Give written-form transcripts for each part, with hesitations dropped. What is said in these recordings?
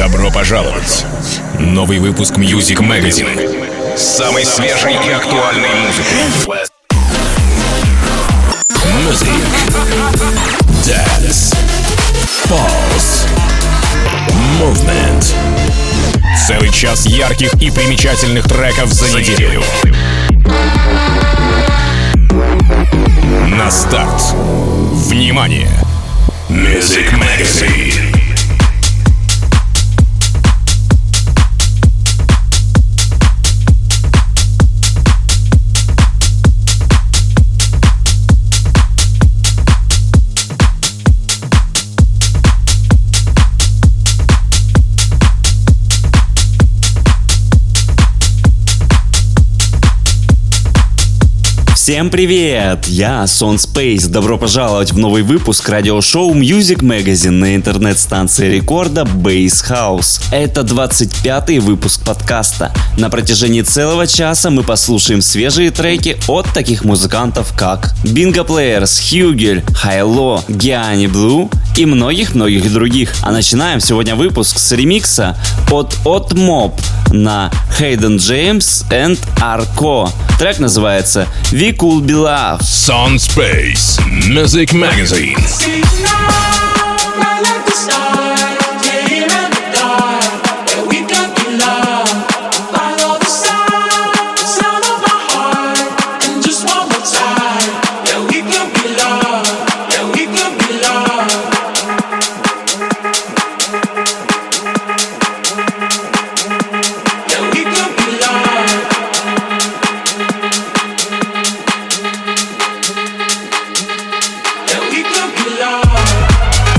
Добро пожаловать! Новый выпуск Music Magazine с самой свежей и актуальной музыкой. Music, Dance, Pulse, Movement. Целый час ярких и примечательных треков за неделю. На старт. Внимание! Music Magazine. Всем привет! Я Сон Спейс. Добро пожаловать в новый выпуск радиошоу Music Magazine на интернет-станции рекорда Bass House. Это 25-й выпуск подкаста. На протяжении целого часа мы послушаем свежие треки от таких музыкантов, как Bingo Players, Hugel, Hi-Lo, Gianni Blue и многих-многих других. А начинаем сегодня выпуск с ремикса от Mob на Hayden James and Arco. Трек называется We Could Be Love. Сон Спейс, Music Magazine. We could be loved.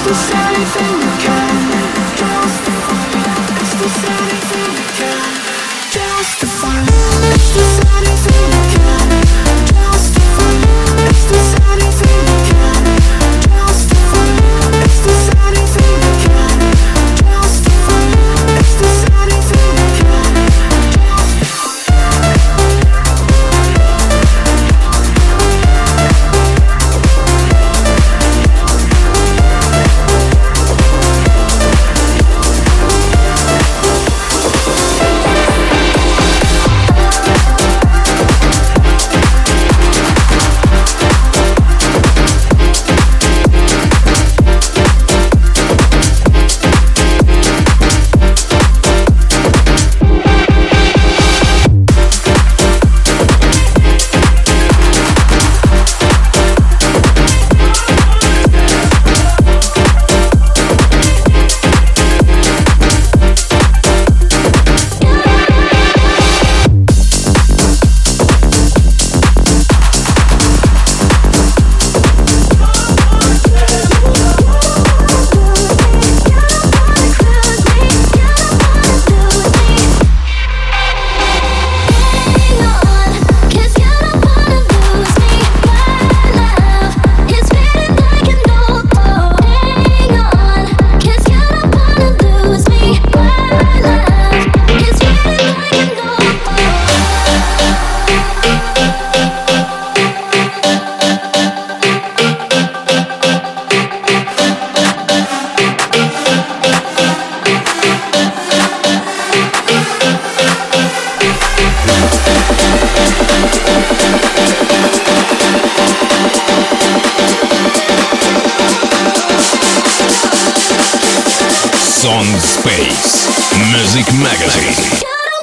Son Space Music Magazine.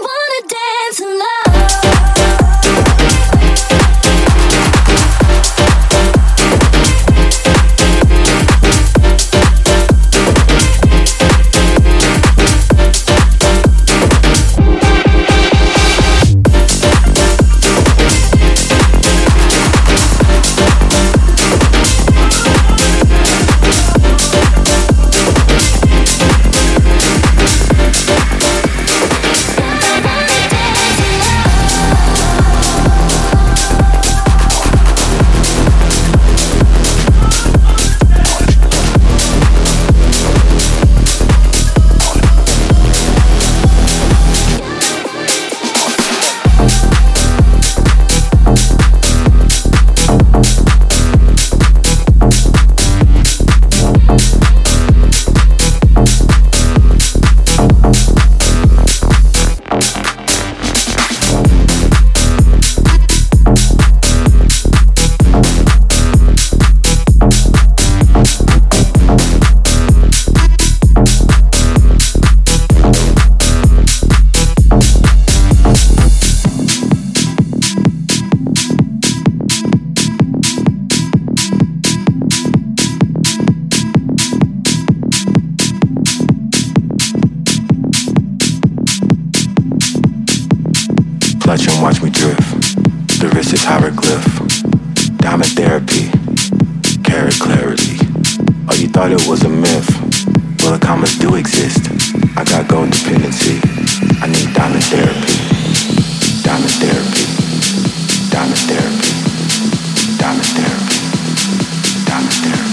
Clutch and watch me drift. The wrist is hieroglyph. Diamond therapy. Carrot clarity. Oh, you thought it was a myth? Well, the commas do exist. I got gold dependency. I need diamond therapy. Diamond therapy. Diamond therapy. Diamond therapy. Diamond therapy.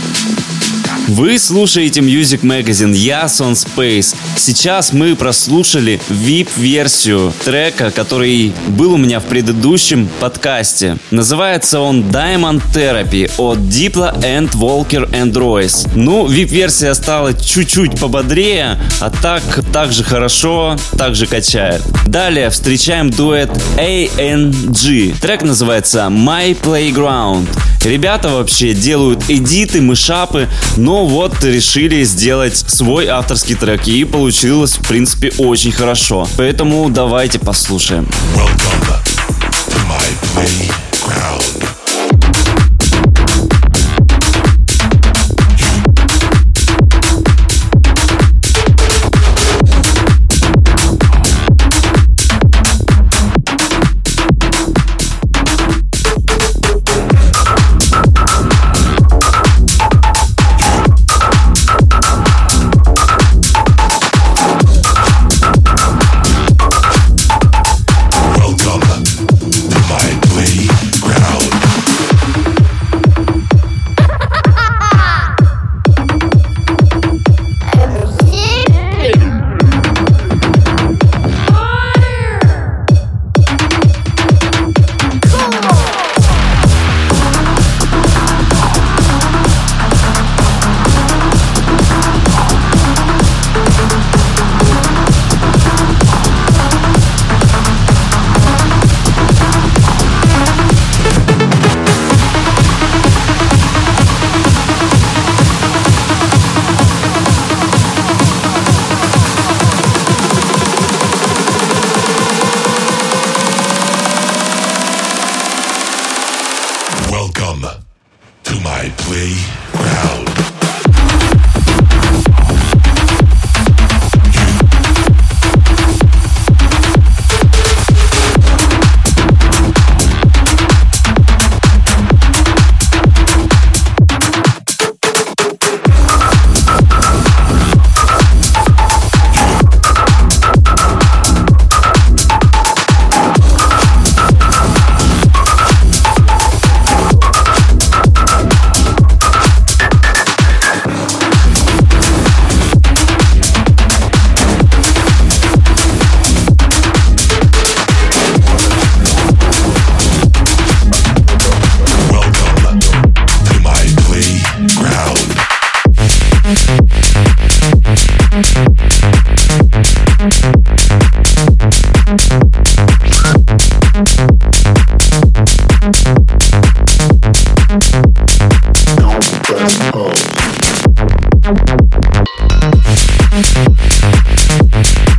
Вы слушаете Music Magazine, я Son Space. Сейчас мы прослушали VIP-версию трека, который был у меня в предыдущем подкасте. Называется он Diamond Therapy от Diplo and Walker and Royce. Ну, VIP-версия стала чуть-чуть пободрее, а так же хорошо, так же качает. Далее встречаем дуэт ANG. Трек называется My Playground. Ребята вообще делают эдиты, мышапы, но вот решили сделать свой авторский трек, и получилось, в принципе, очень хорошо. Поэтому давайте послушаем. Welcome to my playground.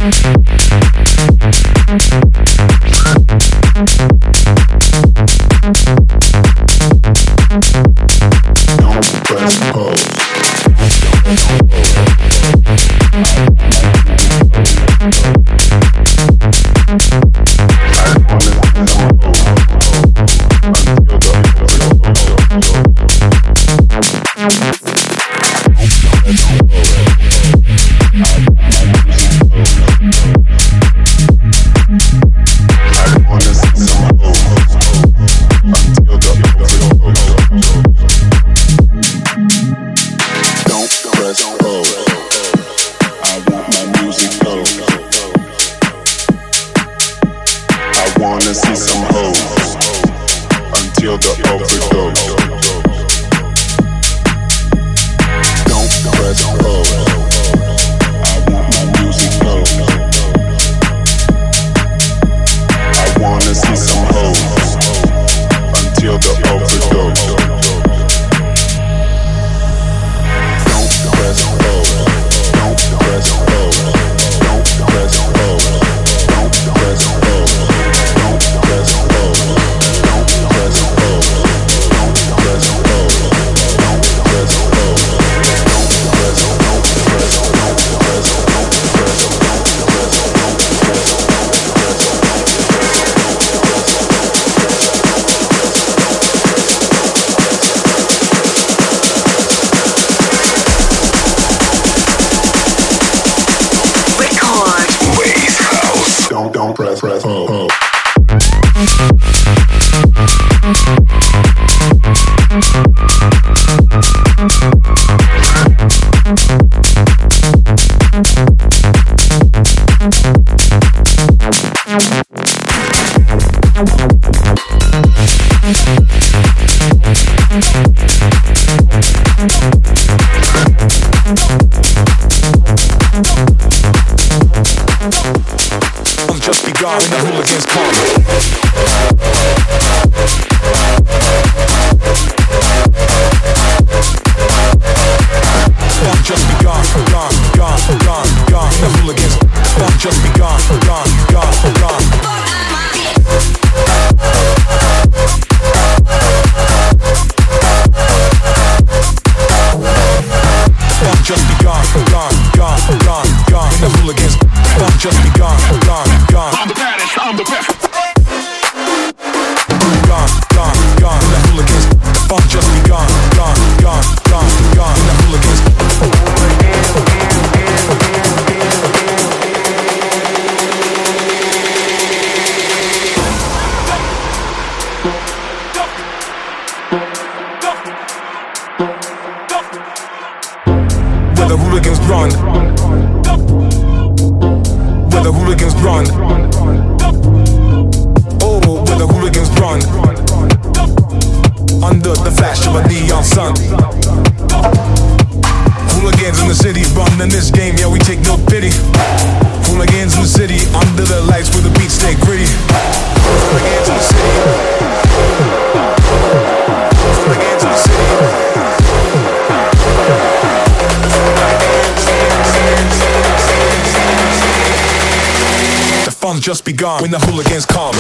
Just begun when the hooligans come.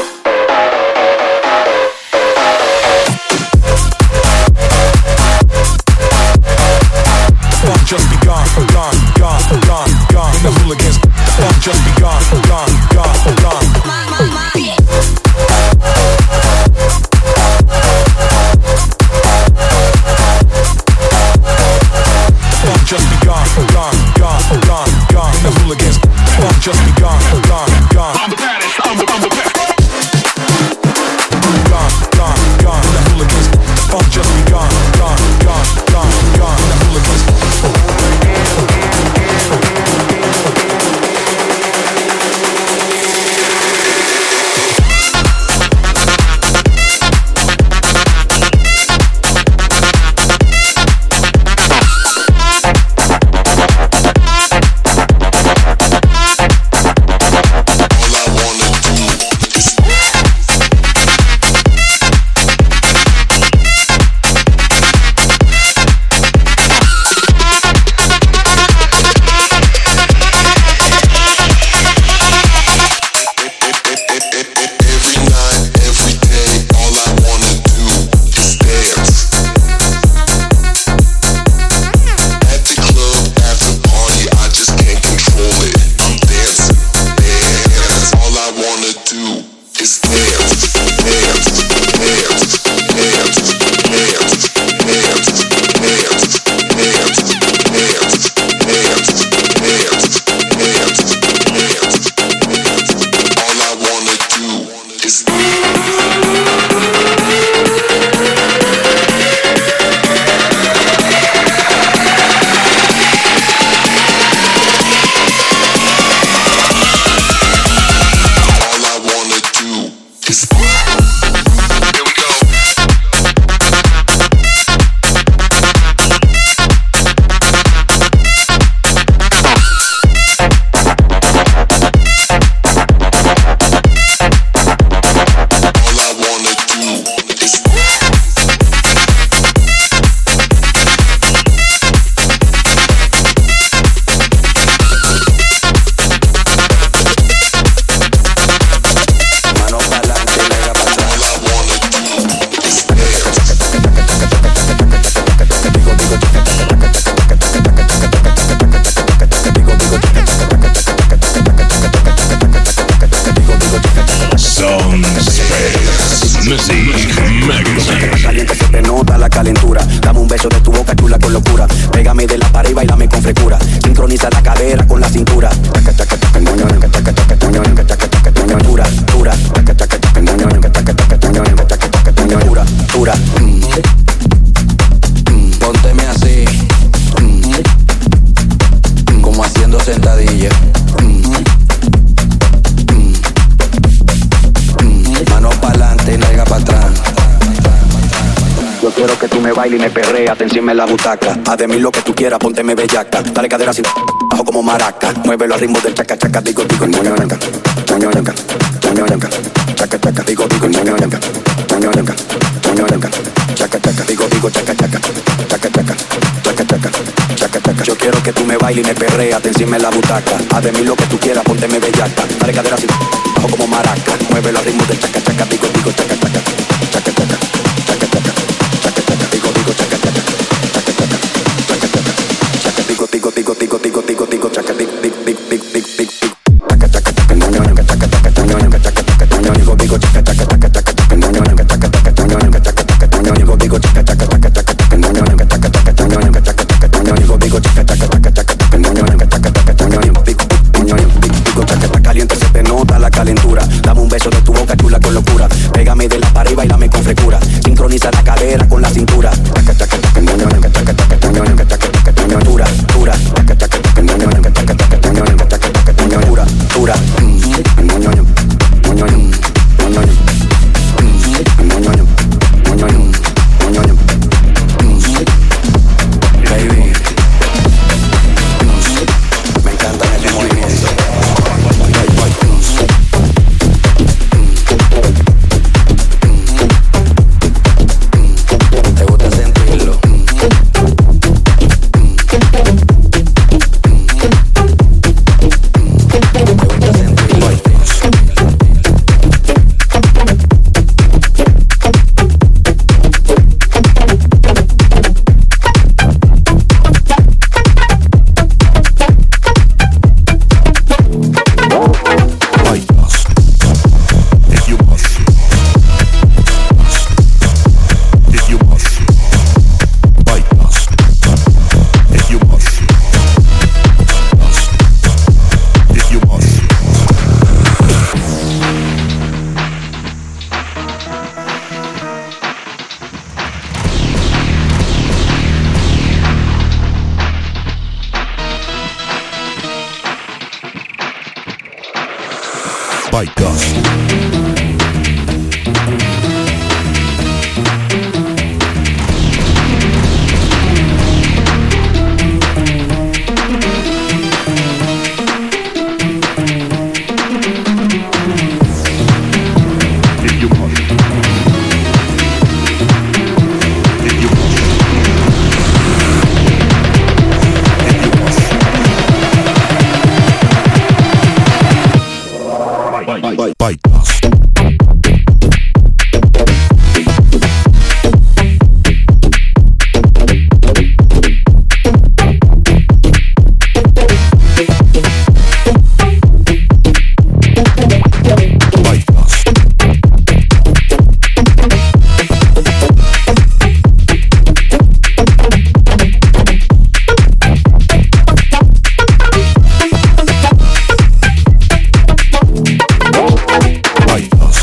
Fun just begun, gone, gone, gone, gone. When the hooligans, fun just begun, gone, gone, gone. Fun just begun, gone, gone, gone, gone. When the hooligans, fun just begun, gone. I'm the baddest, I'm the best. Gone, gone, gone. The hooligans, the fun just begun. Gone, gone, gone, gone. The hooligans. baila y me perrea, te encima en la butaca. Haz de mí lo que tú quieras, pónteme bellaca. Dale cadera así, bajo como maraca. Muévelo al ritmo del chaca chaca, digo, moño yanca, moño yanca, moño yanca, chaca chaca, digo, moño yanca, moño yanca, moño yanca, chaca chaca, digo, chaca chaca, chaca chaca, chaca chaca, chaca chaca. Yo quiero que tú me bailes y me perrea, te encima en la butaca. Haz de mí lo que tú quieras, pónteme bellaca. Dale cadera así, bajo como maraca. Muévelo al ritmo del chaca chaca, digo, chaca chaca, chaca chaca, chaca chaca, chaca chaca, digo, chaca chaca, chaca chaca, chaca chaca, chaca, digo, chaca, chaca chaca, chaca, moño yanca, chaca chaca, moño yanca, chaca chaca, moño digo, chaca chaca, chaca chaca, moño yanca, chaca chaca, moño yanca, chaca chaca, moño digo, chaca chaca, chaca chaca, moño yanca, chaca chaca, moño yanca, chaca chaca, moño digo, chaca chaca, chaca chaca, moño yanca, chaca chaca, moño digo, chaca chaca, caliente se te nota la calentura. Dame un beso de tu boca chula con locura. Pégame de la pared y bailame con frescura. Sincroniza la cadera con la cintura. Chaca chaca, chaca, moño yanca, chaca chaca, moño yanca, chaca chaca, moño dura, dura. Chaca chaca, chaca, moño yanca, chaca chaca, moño yanca, chaca chaca, moño dura, dura. Moño yanca, moño yanca, moño yanca, moño yanca, moño yanca, moño yanca. Baby, me encantan esos movimientos. ¿Te gusta sentirlo? Bite dust. Bite dust. Bite dust.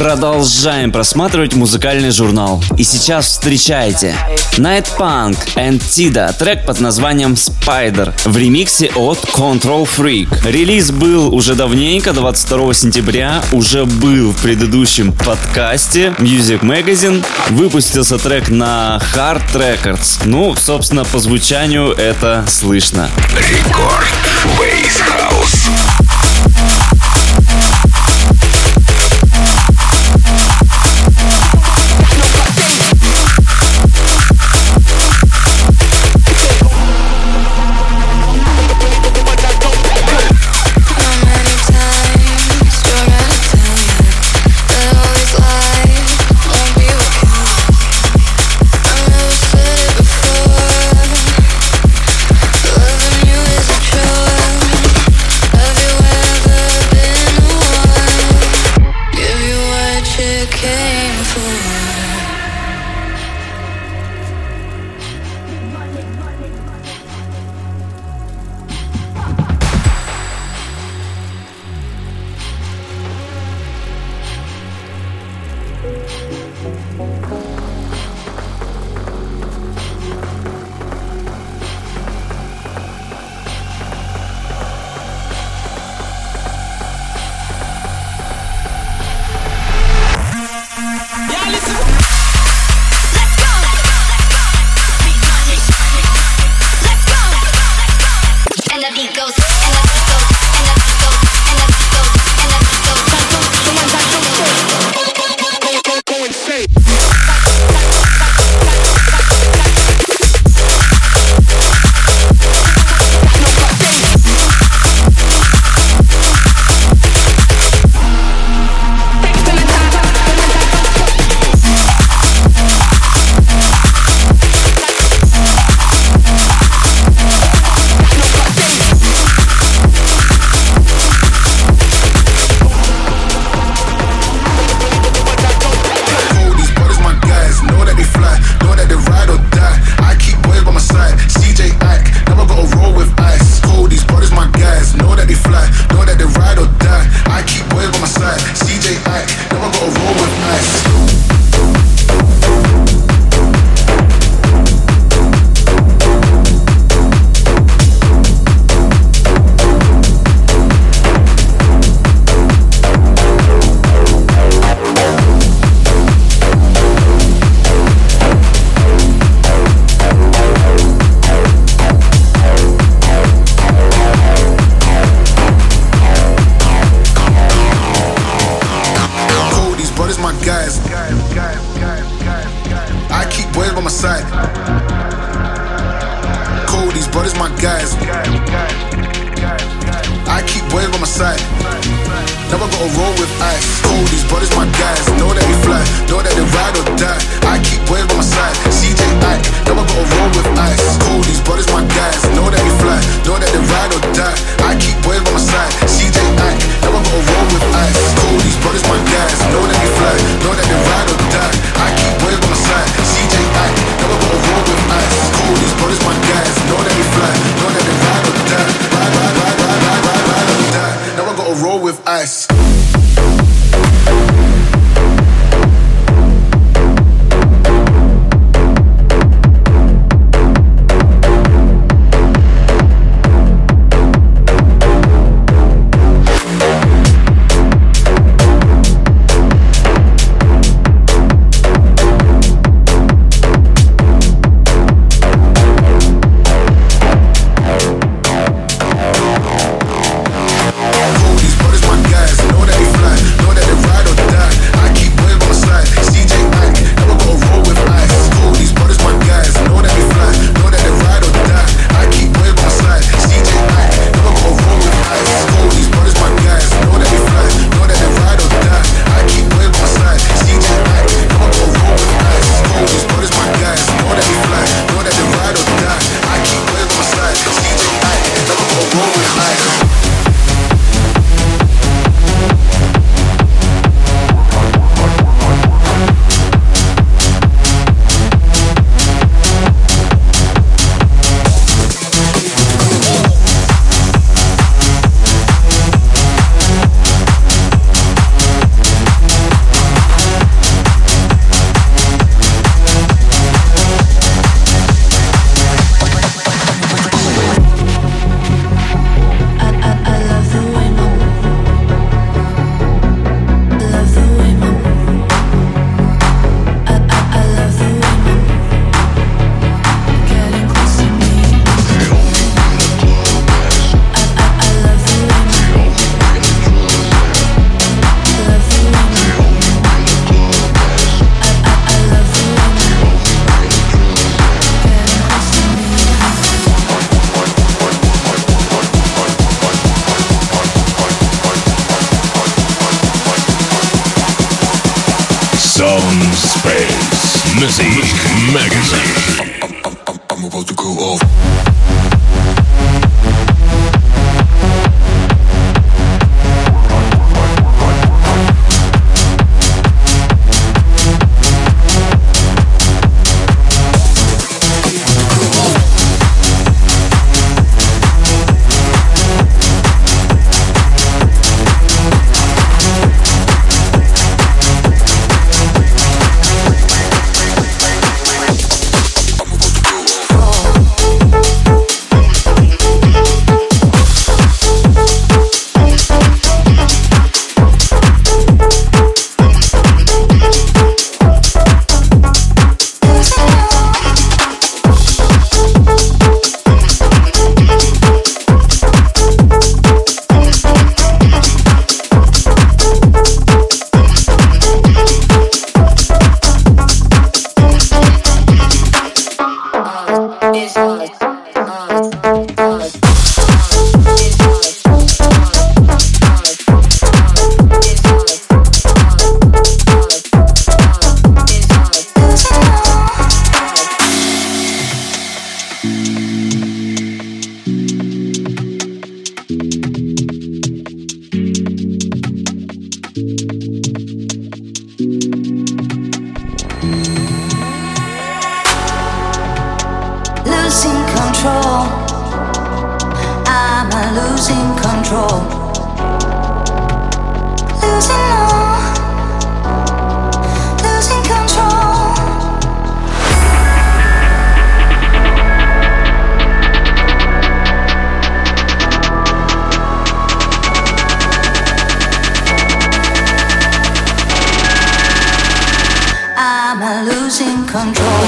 Продолжаем просматривать музыкальный журнал. И сейчас встречайте Night Punk and Tida, трек под названием Spider в ремиксе от Control Freak. Релиз был уже давненько, 22 сентября, уже был в предыдущем подкасте Music Magazine. Выпустился трек на Hard Records. Ну, собственно, по звучанию это слышно. Рекорд Bass House. Now I gotta roll with ice. Cool, these brothers my guys, know that they fly, know that they ride or die. I keep boys by my side. CJ Ack, never gonna roll with ice. Cool, these brothers my guys, know that they fly, know that they ride or die. I keep boys by my side. CJ Ack, never gonna roll with ice. Magazine. I'm about to go off. Losing control. I'm losing control. Losing all. Losing control. I'm losing control.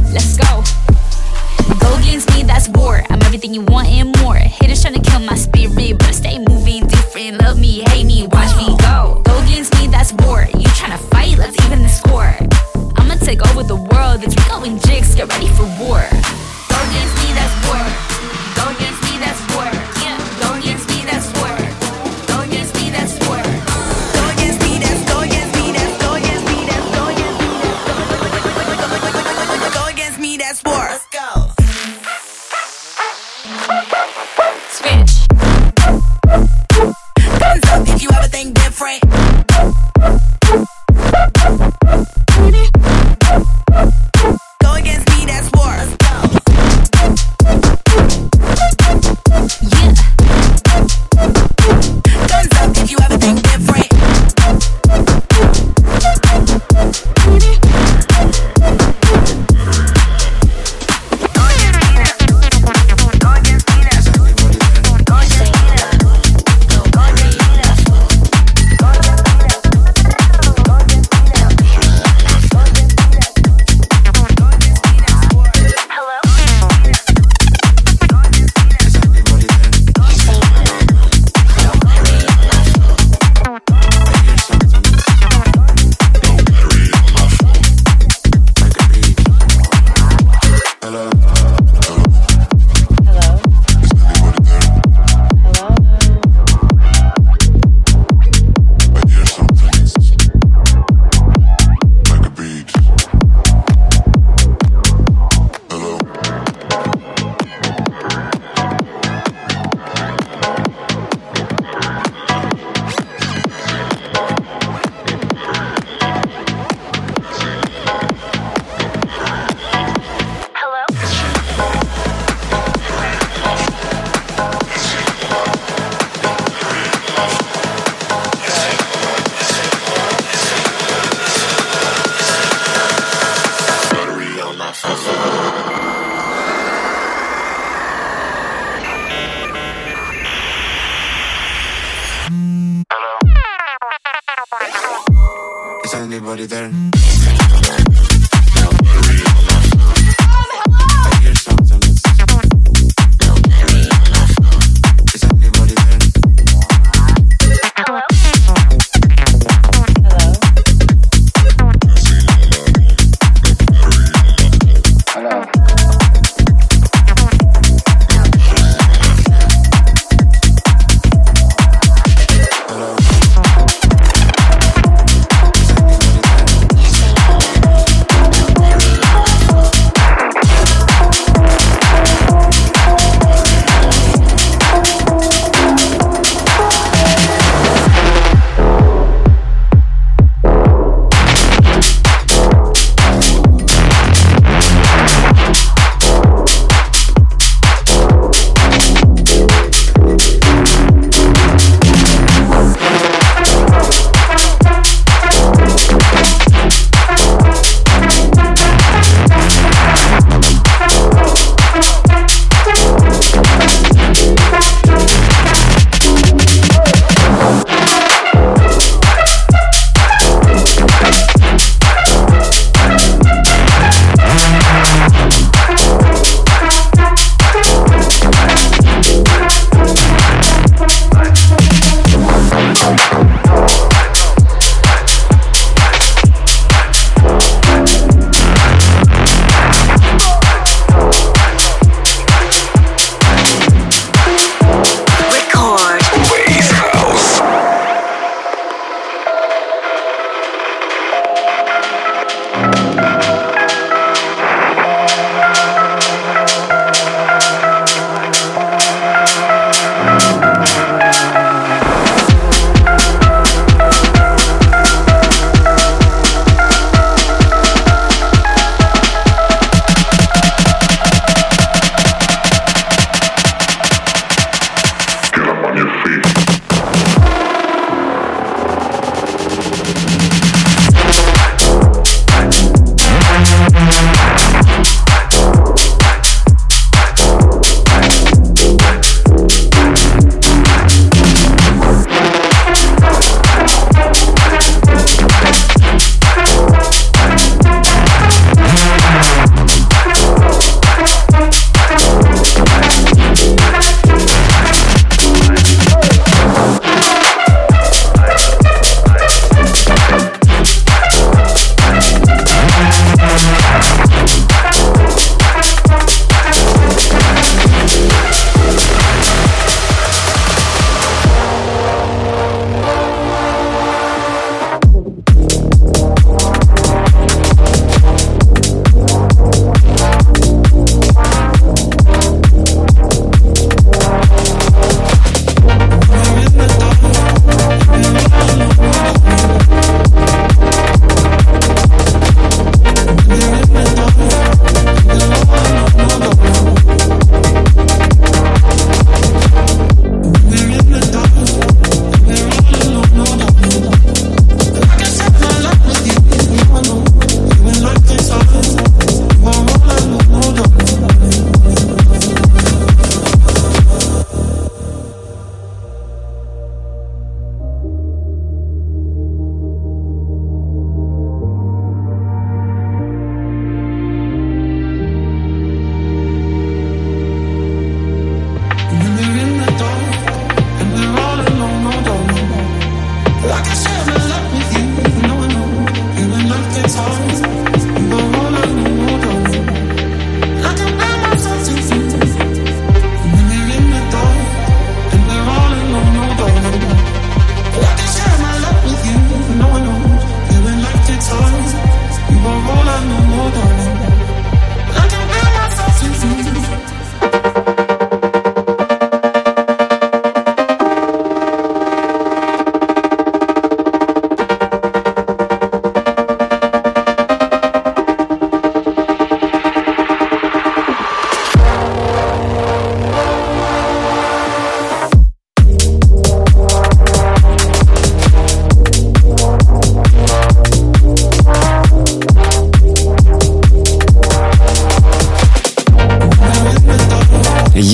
You want and more. Haters trying to kill my spirit. anybody there? I hear something. Is anybody there?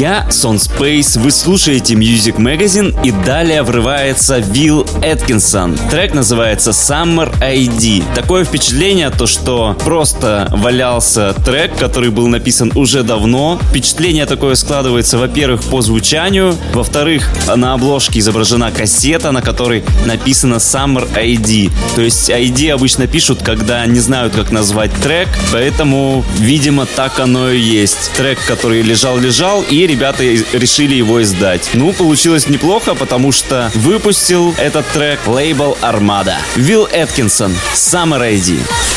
Я Сон Спейс, вы слушаете Music Magazine, и далее врывается Will Atkinson. Трек называется Summer ID. Такое впечатление, то что просто валялся трек, который был написан уже давно. Впечатление такое складывается, во-первых, по звучанию, во-вторых, на обложке изображена кассета, на которой написано Summer ID. То есть ID обычно пишут, когда не знают, как назвать трек, поэтому, видимо, так оно и есть. Трек, который лежал, и ребята решили его издать. Ну, получилось неплохо, потому что выпустил этот трек лейбл Armada. Will Atkinson, Summer ID.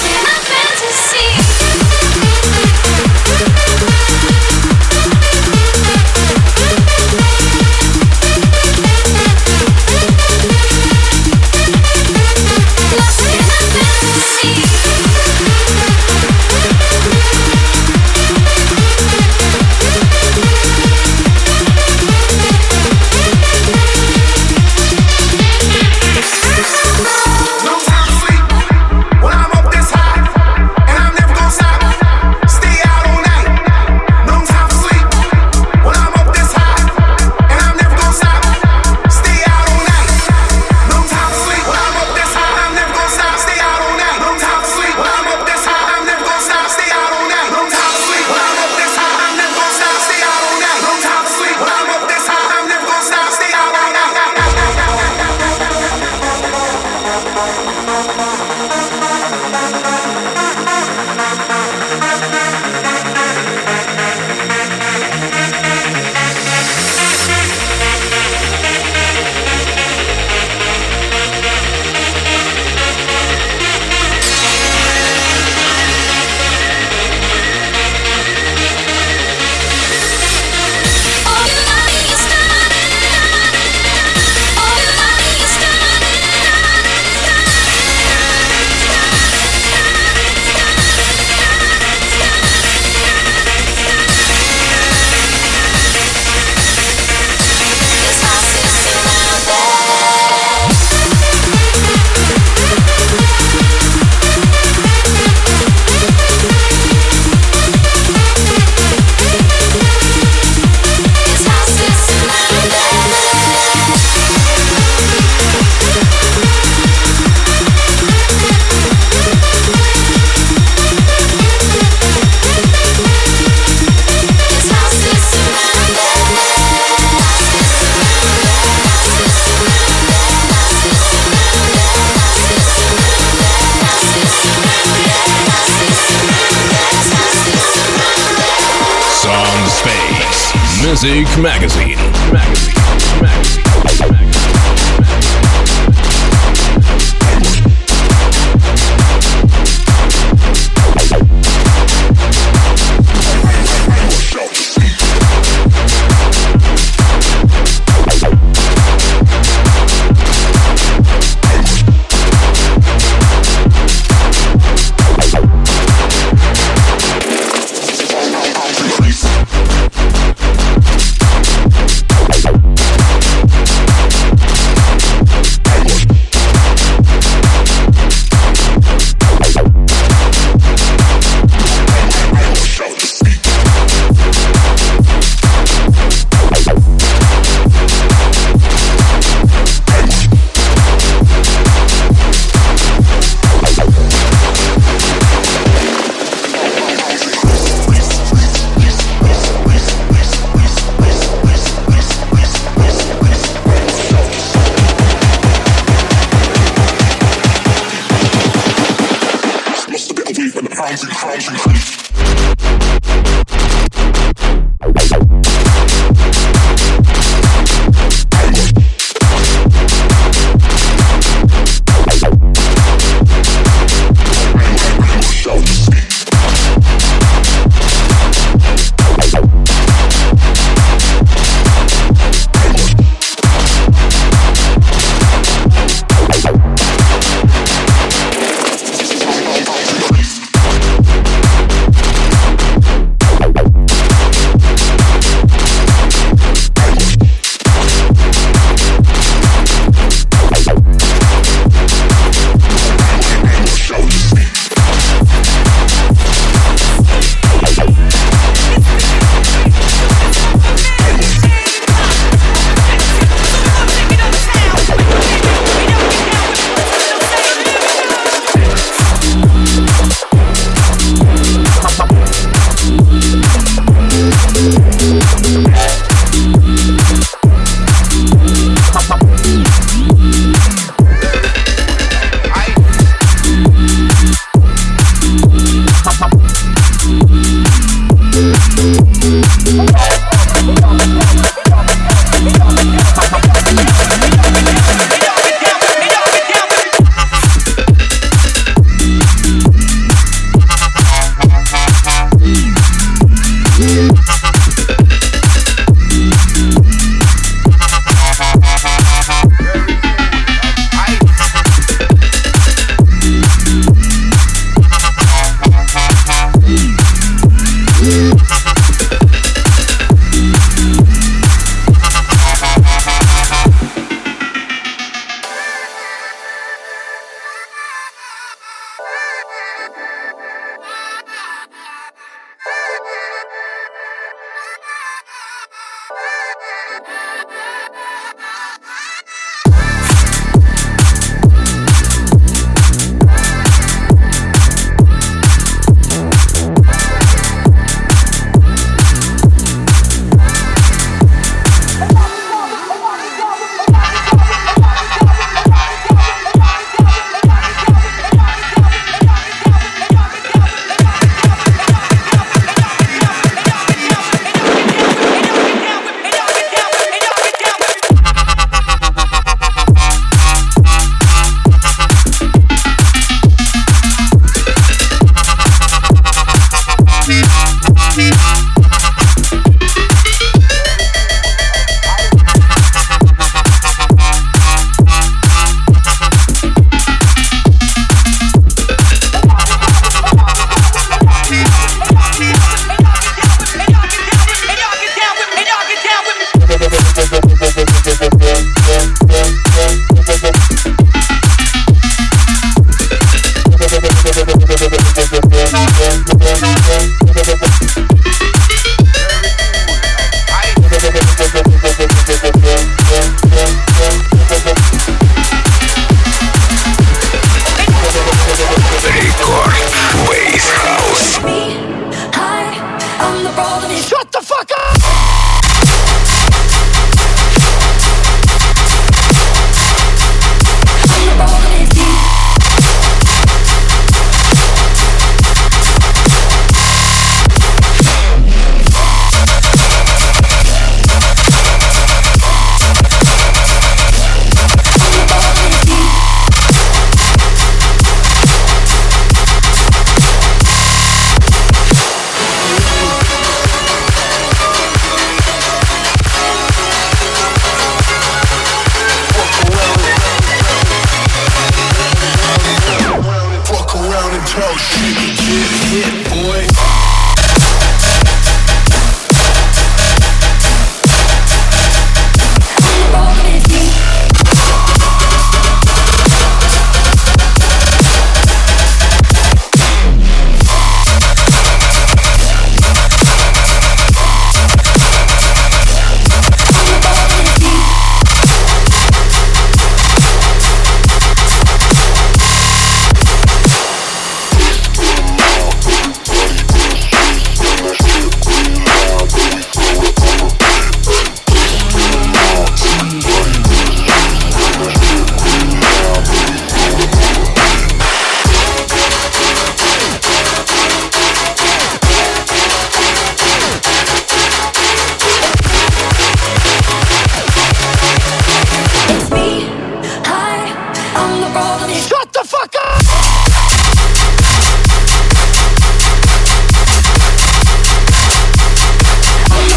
Music Magazine.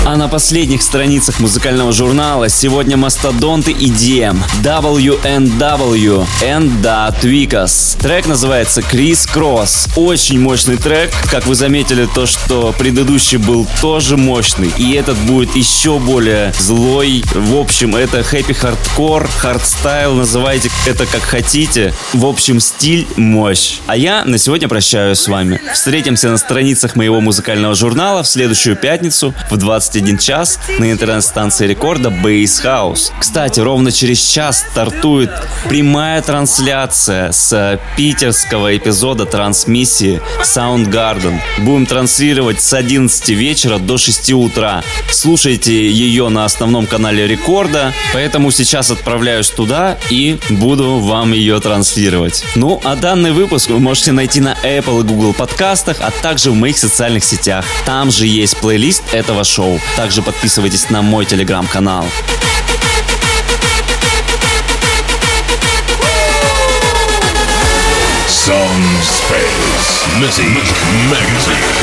А на последних страницах музыкального журнала сегодня мастодонты EDM WNW and Da Tweakers. Трек называется Criss Cross. Очень мощный трек. Как вы заметили, то, что предыдущий был тоже мощный, и этот будет еще более злой. В общем, это хэппи хардкор, хардстайл, называйте это как хотите. В общем, стиль, мощь. А я на сегодня прощаюсь с вами. Встретимся на страницах моего музыкального журнала в следующую пятницу в 21 час на интернет-станции рекорда Bass House. Кстати, ровно через час стартует прямая трансляция с питерского эпизода трансмиссии Soundgarden. Будем транслировать с 11 вечера до 6 утра. Слушайте ее на основном канале рекорда, поэтому сейчас отправляюсь туда и буду вам ее транслировать. Ну, а данный выпуск вы можете найти на Apple и Google подкастах, а также в моих социальных сетях. Там же есть плейлист этого шоу. Также подписывайтесь на мой телеграм-канал. Sound Space Music Magazine.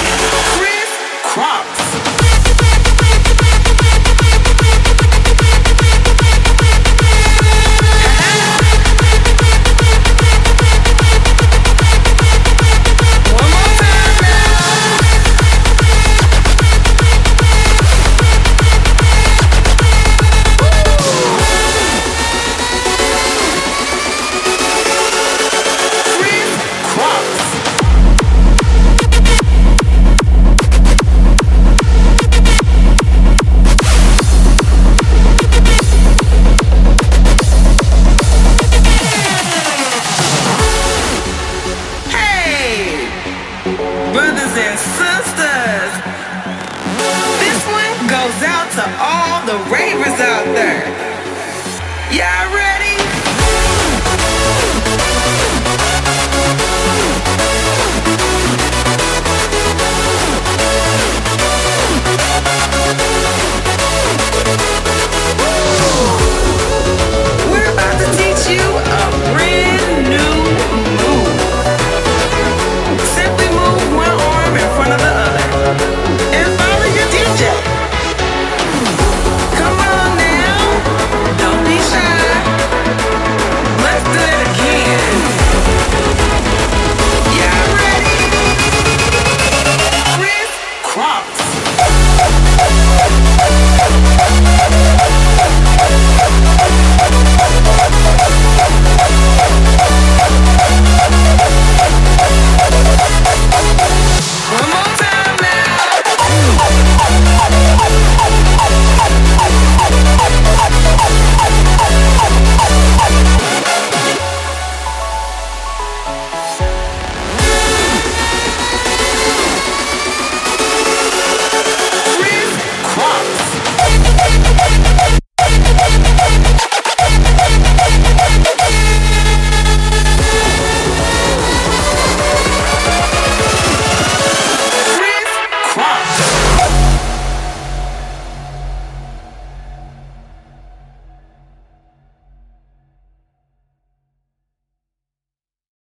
Goes out to all the ravers out there. Y'all ready?